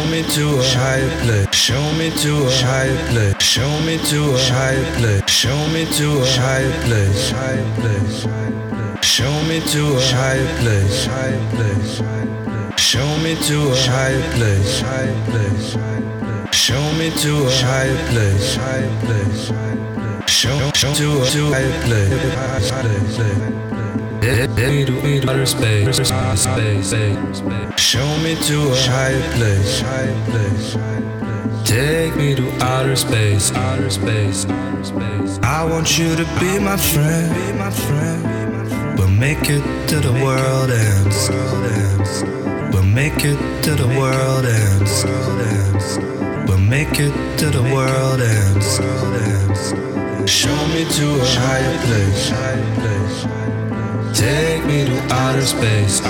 me to a higher place. Show me to a higher place. Show me to a higher place. Show me to a higher place. Show me to a higher place. Show me to a higher place. Show me to a higher place. Show to a higher place. Me to outer space. Show me to a higher place. Take me to outer space. I want you to be my friend. We'll make it to the world ends. We'll make it to the world ends. We'll make it to the world ends. Show me to a higher place. Take me to outer space.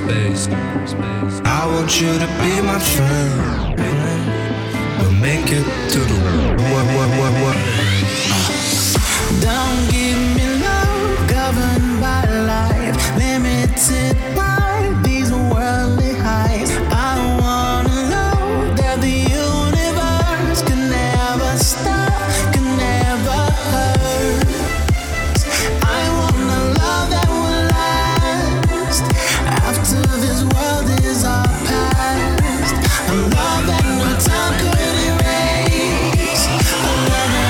I want you to be my friend. We'll make it to the world. Don't give me love governed by life, limited by these worldly highs. I wanna know that the universe can never stop, can never hurt. I want a love that will last after this world is our past. A love that no time could erase. A love that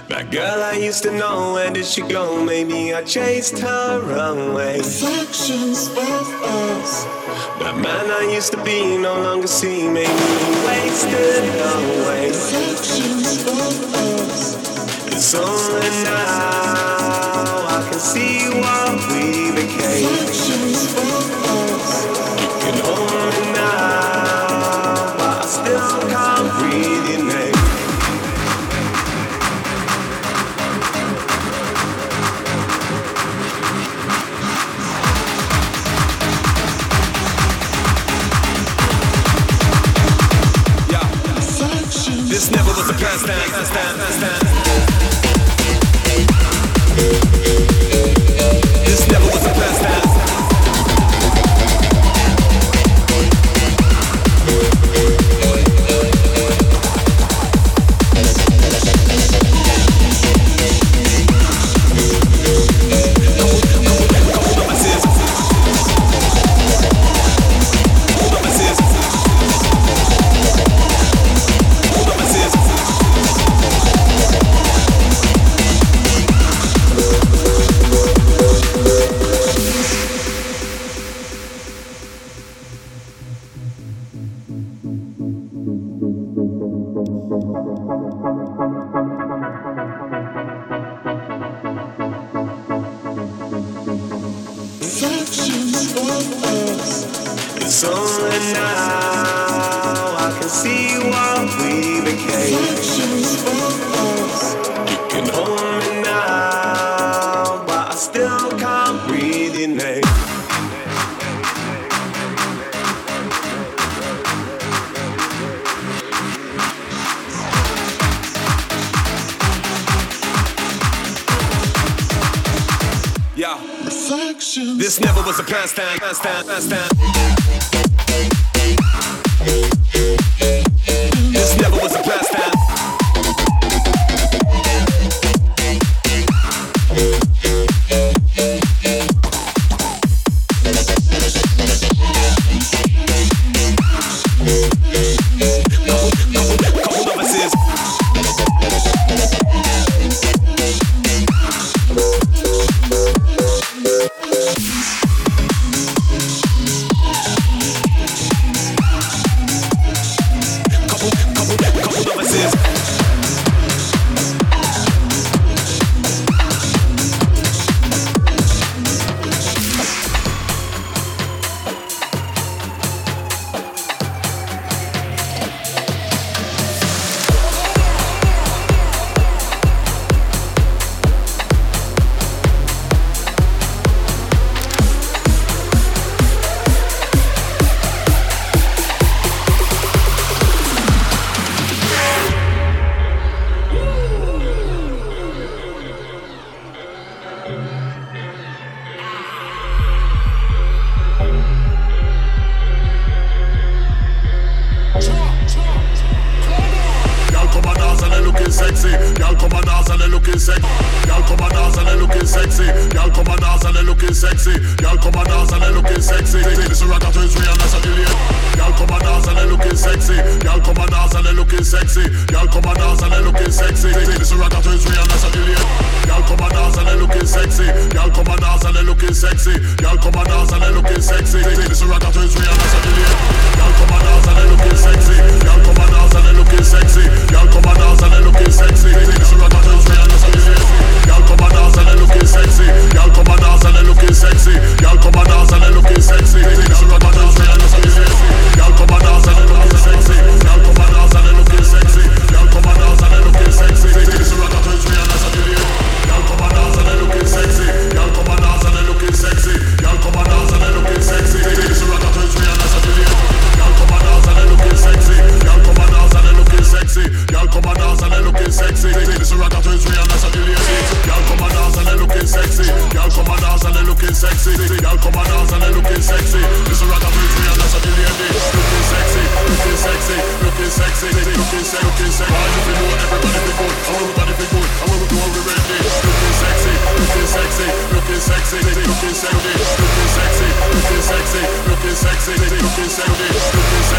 That girl I used to know, where did she go? Maybe I chased her away. Reflections of us. That man I used to be no longer see. Maybe he wasted away. Reflections of us. It's only now I can see what we became. Reflections of us. You can hold me now, but I still can't breathe your name. This never was a plan stand. This never was a plan stand. It's only now I can see what we became. You can hold me now, but I still can't breathe your name. Yeah. Reflections. This never was a plan stand. This never was a plan stand. Couple novices.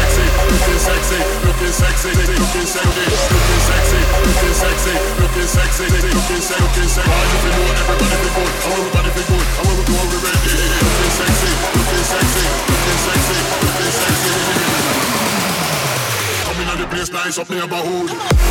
Looking sexy, Nice up neighborhood.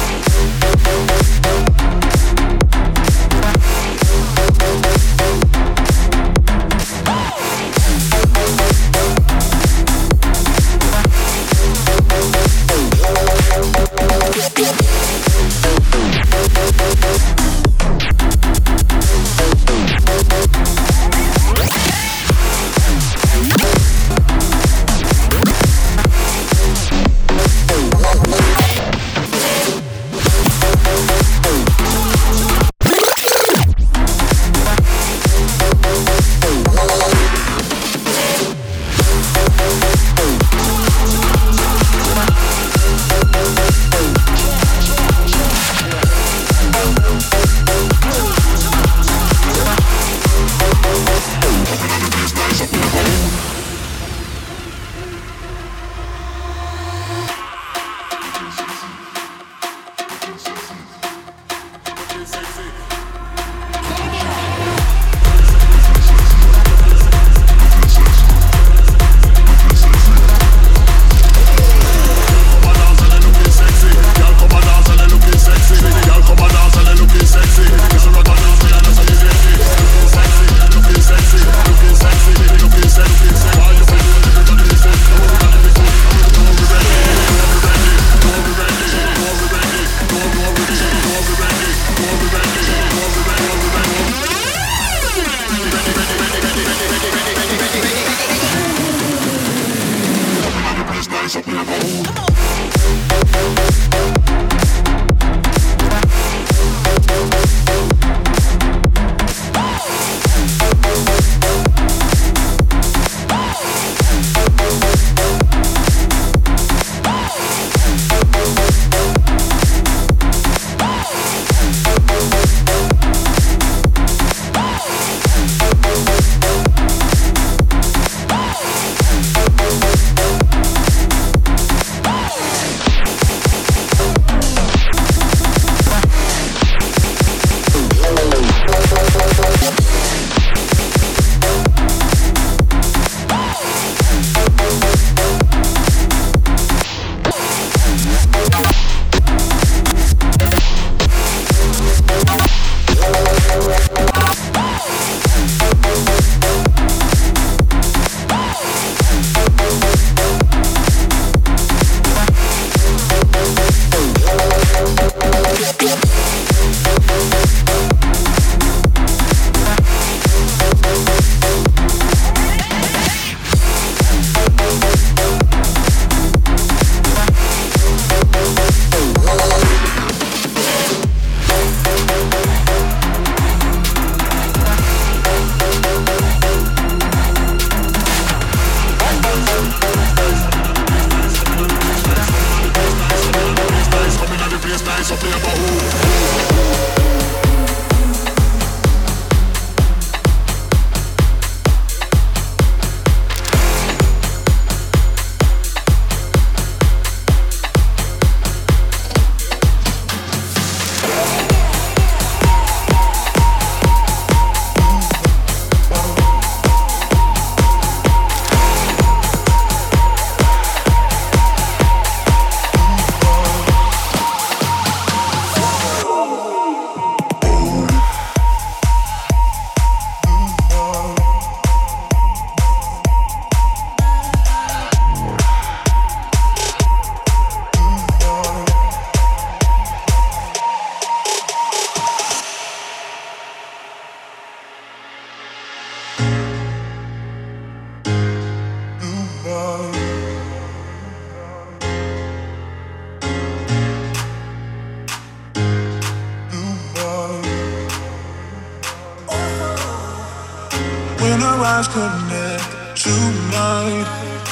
eyes connect tonight.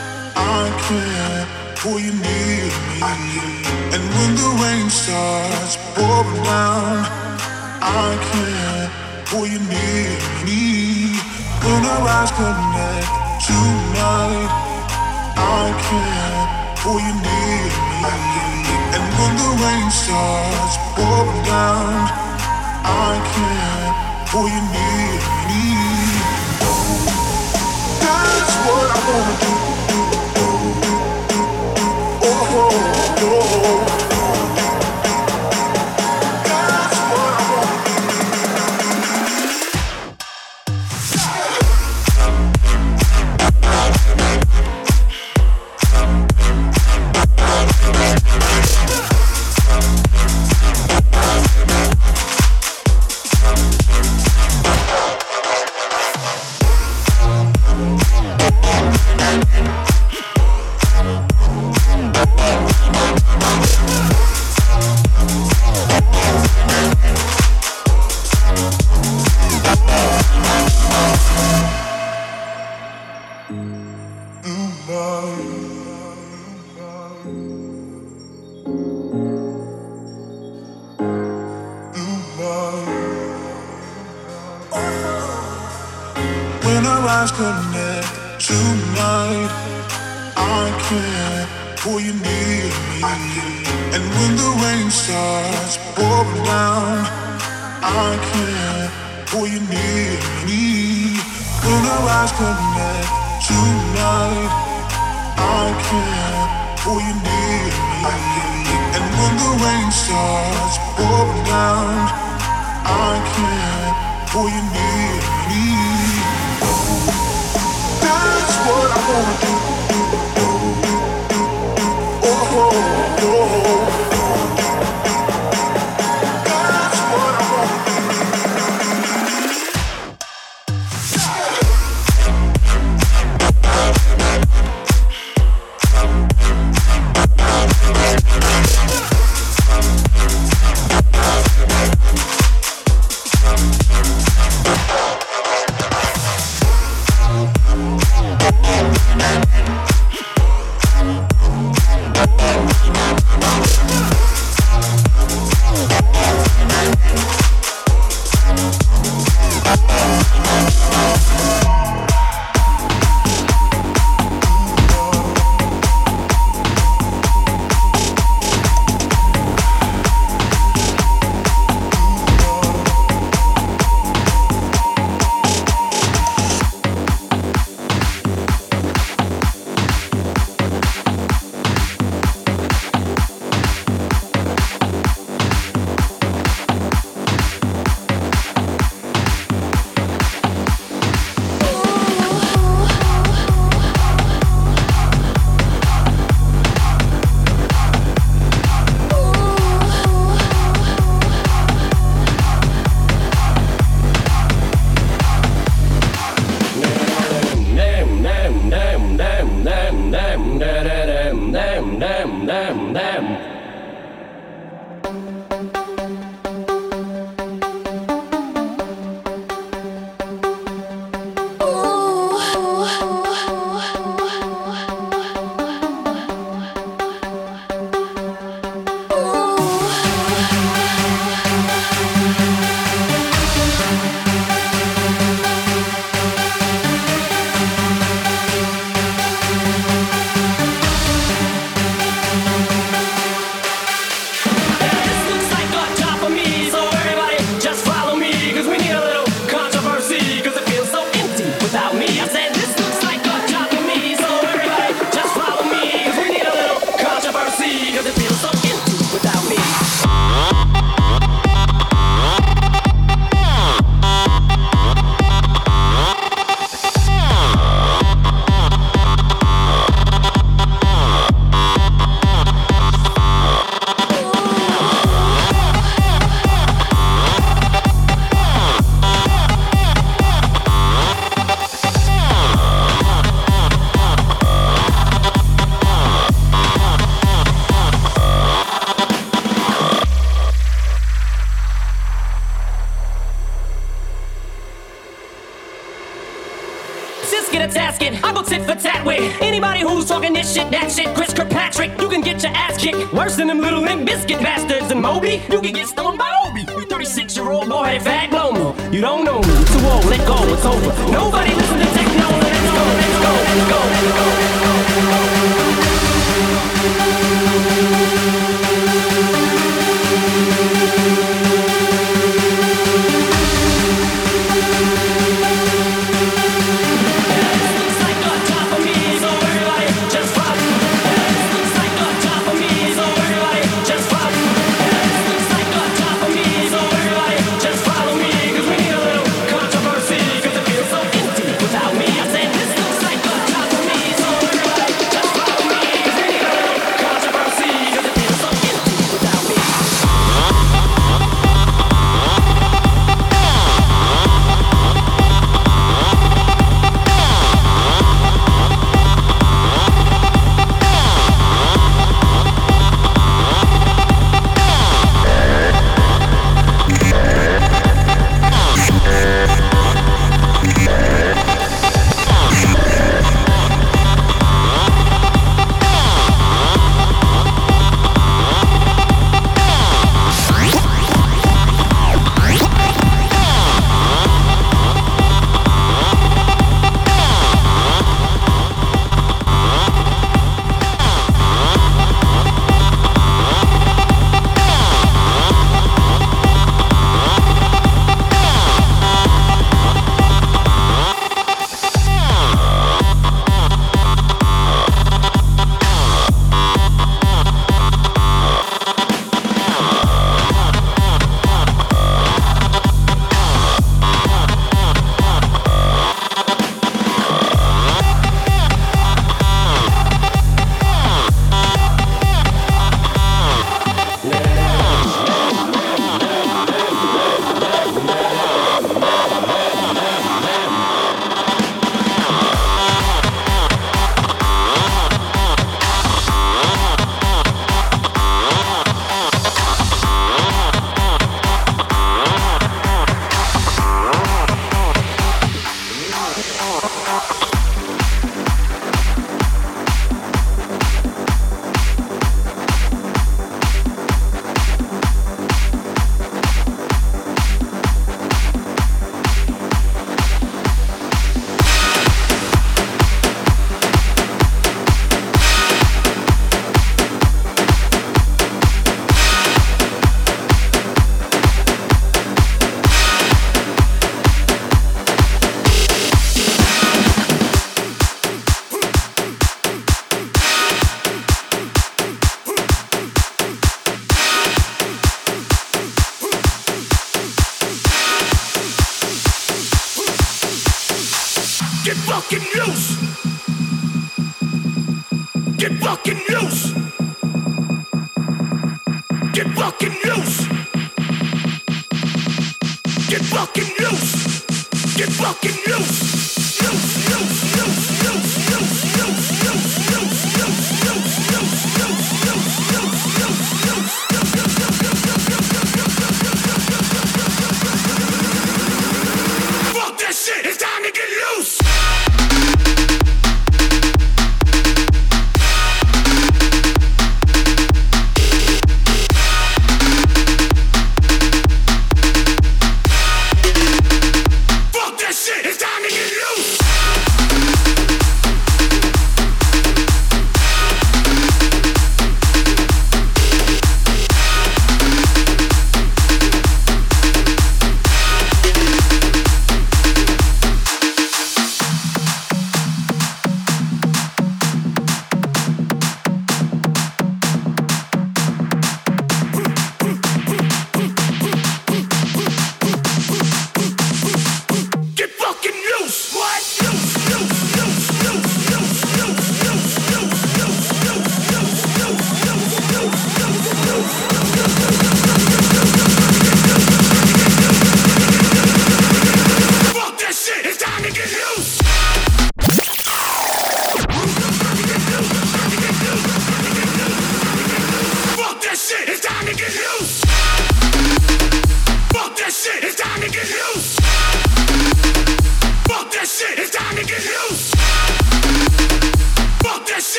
I can't pull you near me. And when the rain starts pouring down, I can't pull you near me. When our eyes connect tonight, I can't pull you near me. And when the rain starts pouring down, I can't pull you near me. That's what I wanna do. Oh, oh, oh. That's what I wanna do. When our eyes connect tonight, I can't pull you near me. And when the rain starts pouring down, I can't pull you near me. When our eyes connect tonight, I can't pull you near me. And when the rain starts pouring down, I can't pull you near me. That's what I wanna do. Oh, oh, oh. That's what I wanna do. Get a tasket, I go tit for tat with anybody who's talking this shit, that shit. Chris Kirkpatrick, you can get your ass kicked worse than them little Limp Bizkit bastards. And Moby, you can get stoned by Obi. You 36-year-old boy, fag blow me. You don't know me, too old, let go, it's over. Nobody listen to techno, let's go, let's go, let's go, let's go, let's go, let's go.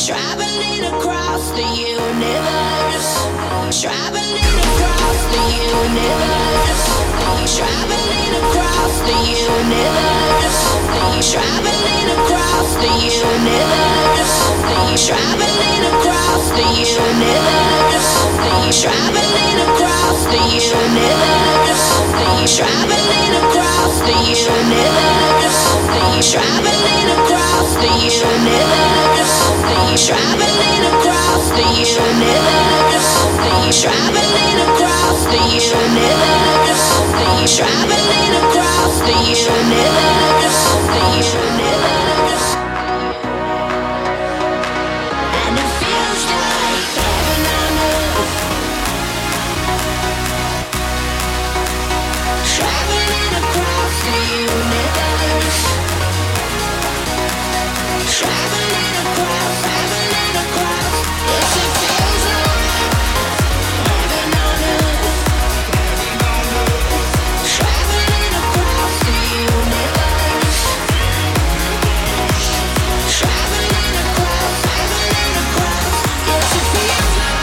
Traveling across the universe. Traveling across the universe. Traveling across the universe. Traveling across the universe. Traveling across the universe. Traveling across the universe. Traveling across the universe. Traveling across the universe. Traveling across the universe. Traveling across the universe. Traveling across the universe. And it feels like heaven on earth. Traveling across the universe. Traveling across. Yes, it feels like heaven on earth. Traveling across the universe. Traveling across. Yes, it feels like.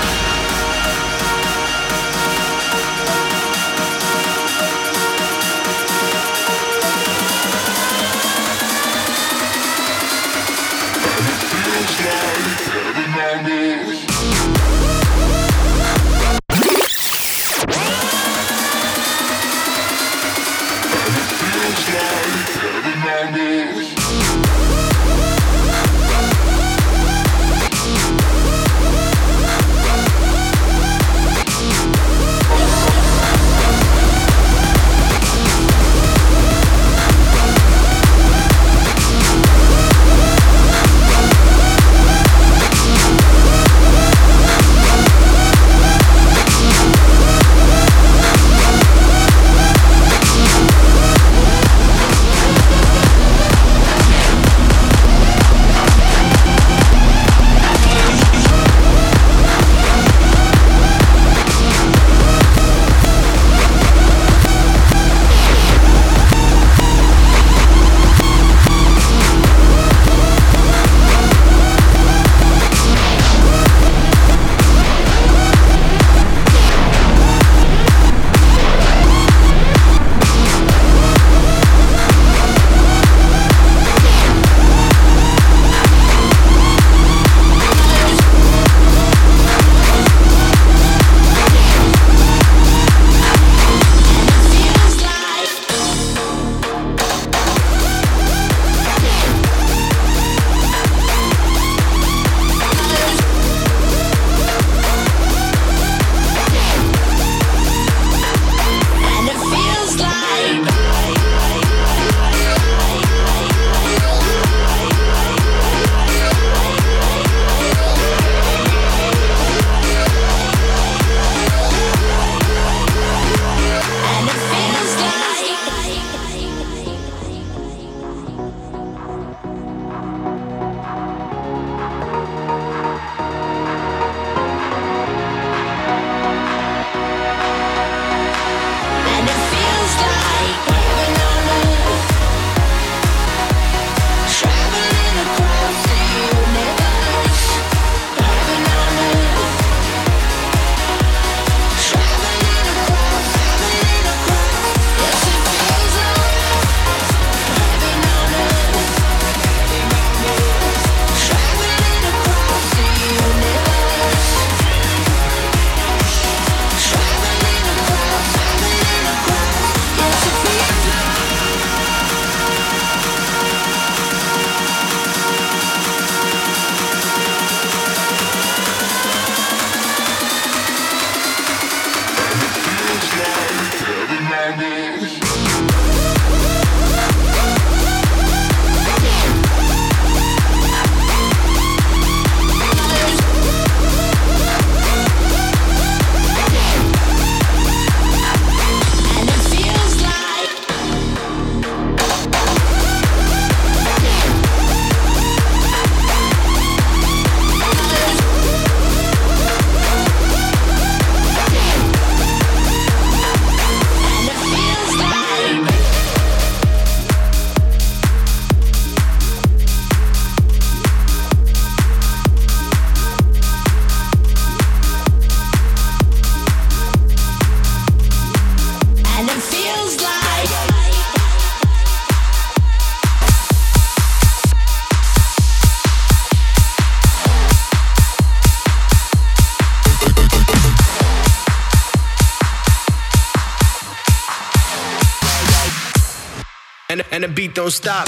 and the beat don't stop.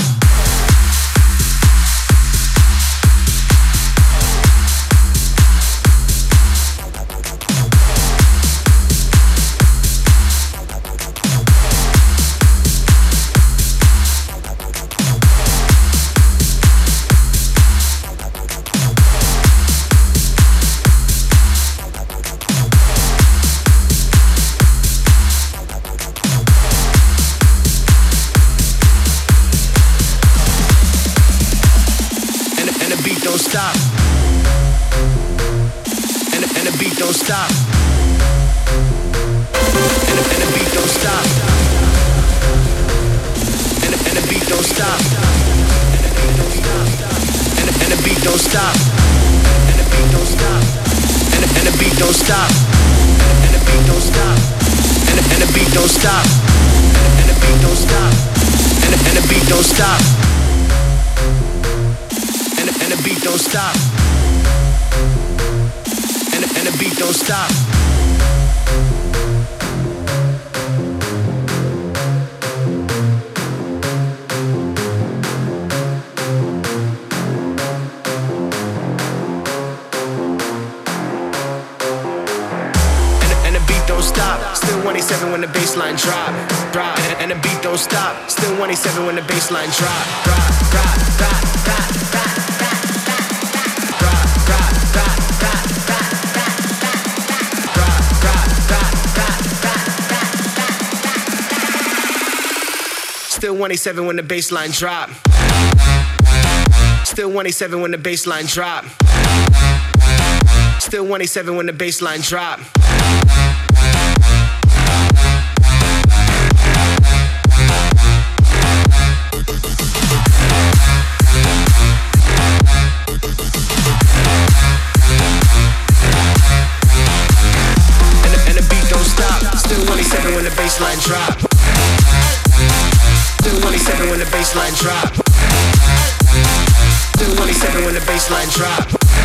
Stop. And the beat don't stop. And the beat don't stop. And the beat don't stop. And the beat don't stop. And the beat don't stop. And the beat don't stop. And the beat don't stop. And the beat don't stop. And the beat don't stop. And the beat don't stop. And the beat don't stop. And the beat don't stop. And the beat don't stop. Still 187 when the bassline drop. And the beat don't stop. Still 187 when the bassline drop. Still 187 when the bassline drop. Still 187 when the bassline drop. Still 187 when the bassline drop. And the beat don't stop. Still 187 when the bassline drop. Still 187 when the bassline drop. Still 187 when the bassline drop.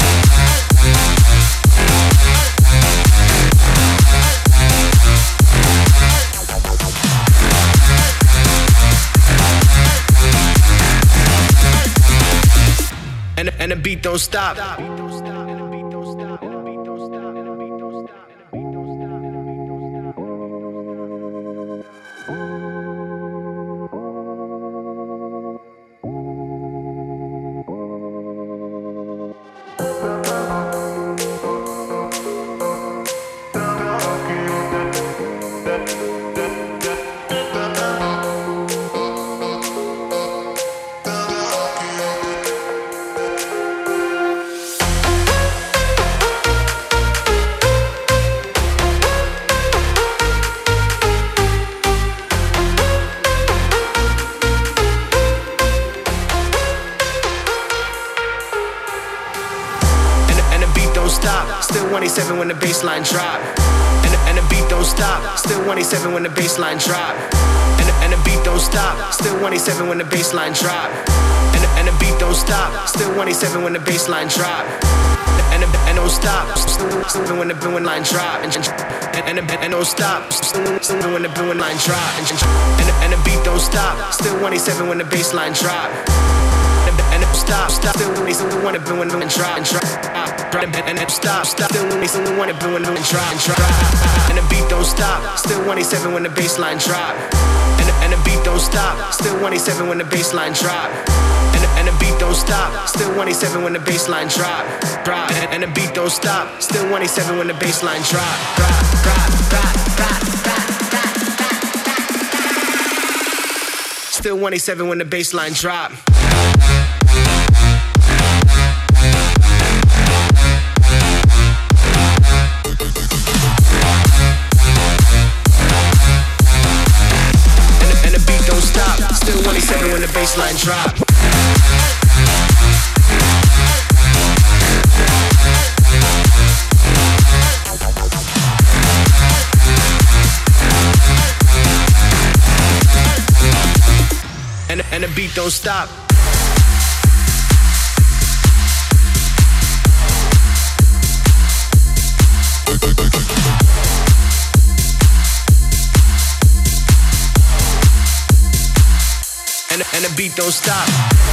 And the beat don't stop. Still 187 when the bassline drop. And the beat don't stop. Still 187 when the bassline drop. And the beat don't stop. Still 187 when the bassline drop. And the beat don't stop. Still 187 when the bassline drop. And don't stop. Still when the blue line drop. And don't stop. Still when the blue line drop. And the beat don't stop. Still 187 when the bassline drop. And stop, still when they want to blue and drop and drop. And stop, still when they want to blue and drop and drop. And the beat don't stop. Still 187 when the bassline drop. And the beat don't stop. Still 187 when the bassline drop. And the beat don't stop. Still 187 when the bassline drop. And the beat don't stop. Still 187 when the bassline drop. Still 187 when the bassline drop. Still 187 when the bassline drop. And the beat don't stop. and the beat don't stop.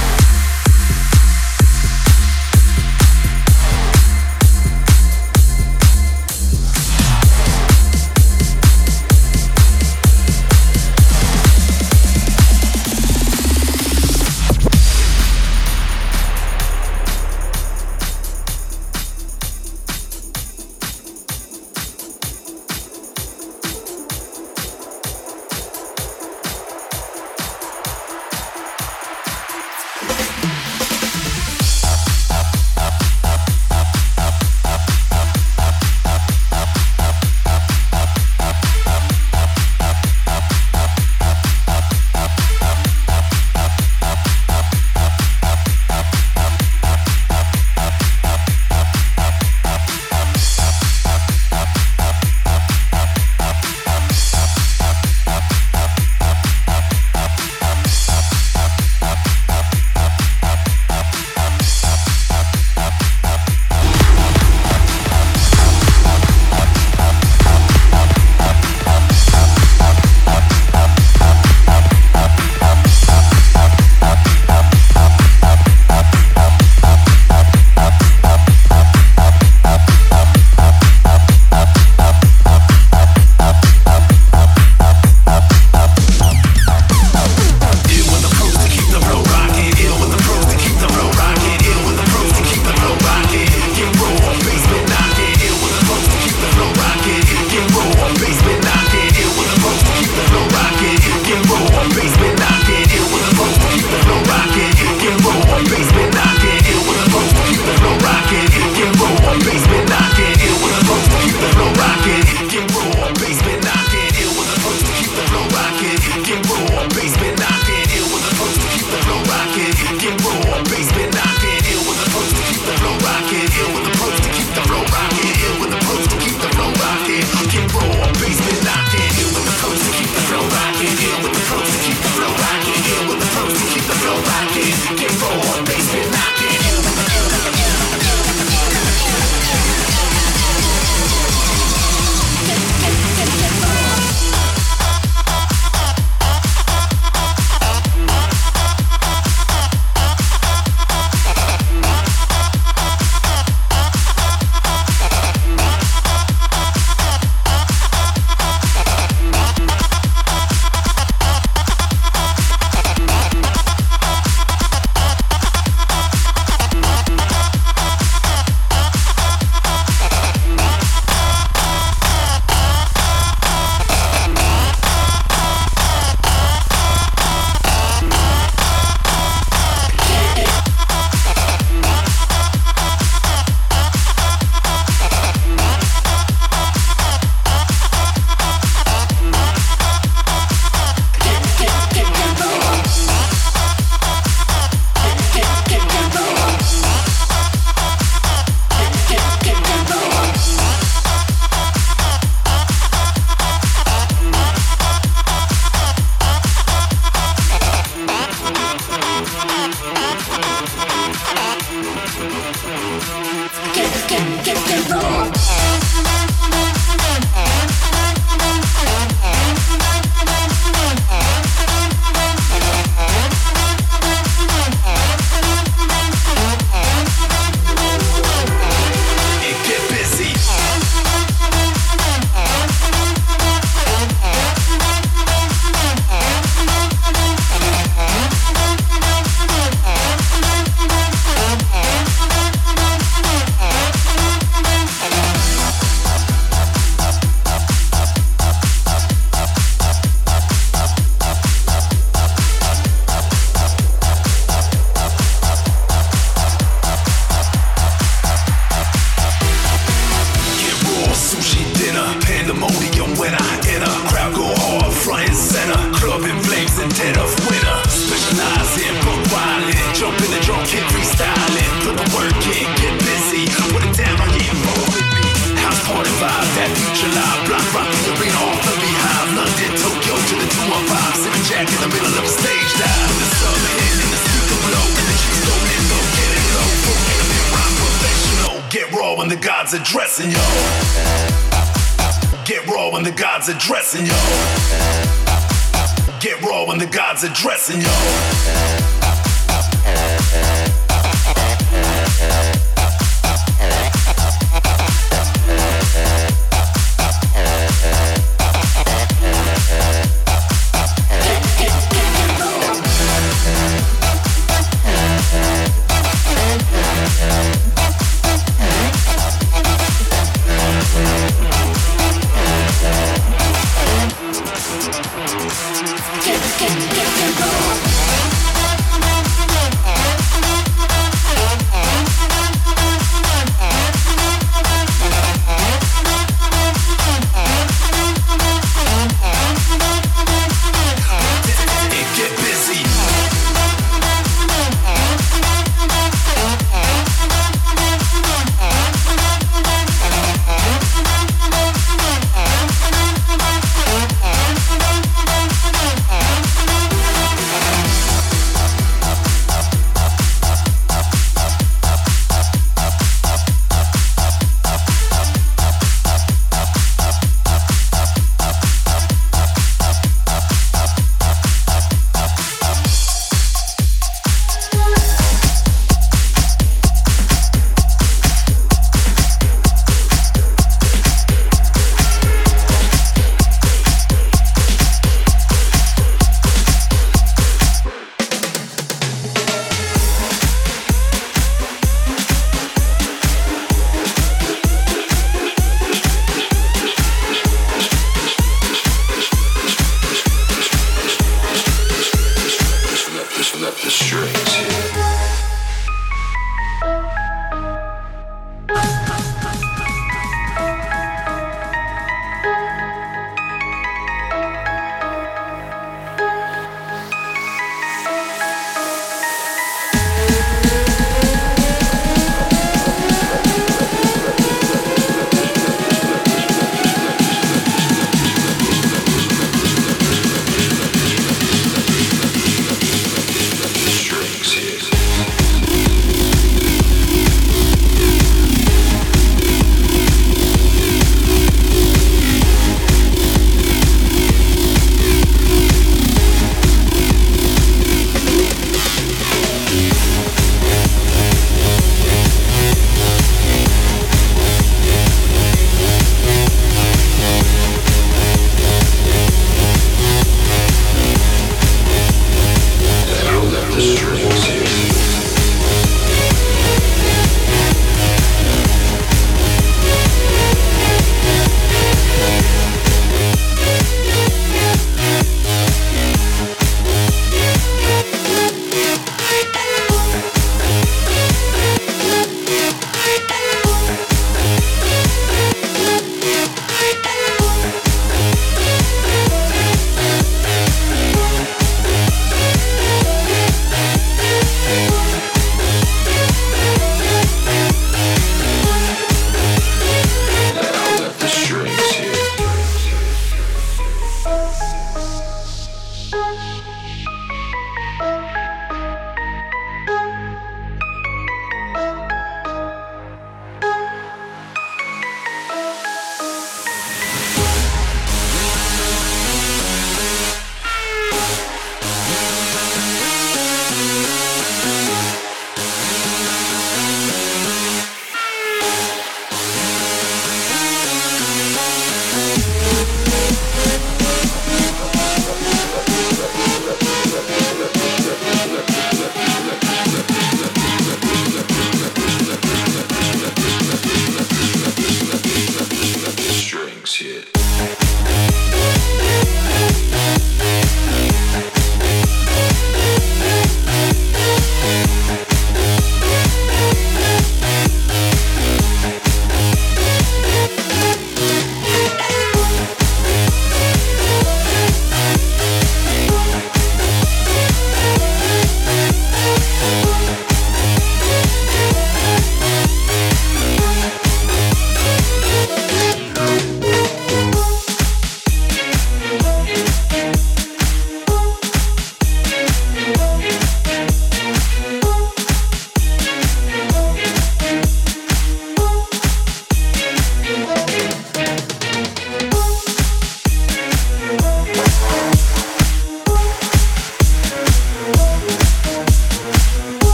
when the gods are dressing you. Get raw when the gods are dressing you. get raw when the gods are dressing y'all. Strings hit.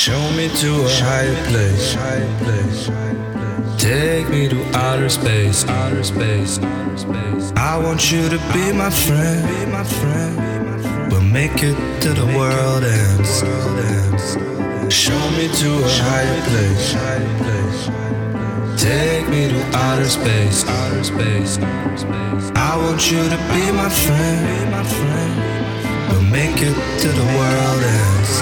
Show me to a higher place. Take me to outer space. I want you to be my friend. We'll make it to the world ends. Show me to a higher place. Take me to outer space. I want you to be my friend. We'll make it to the world ends.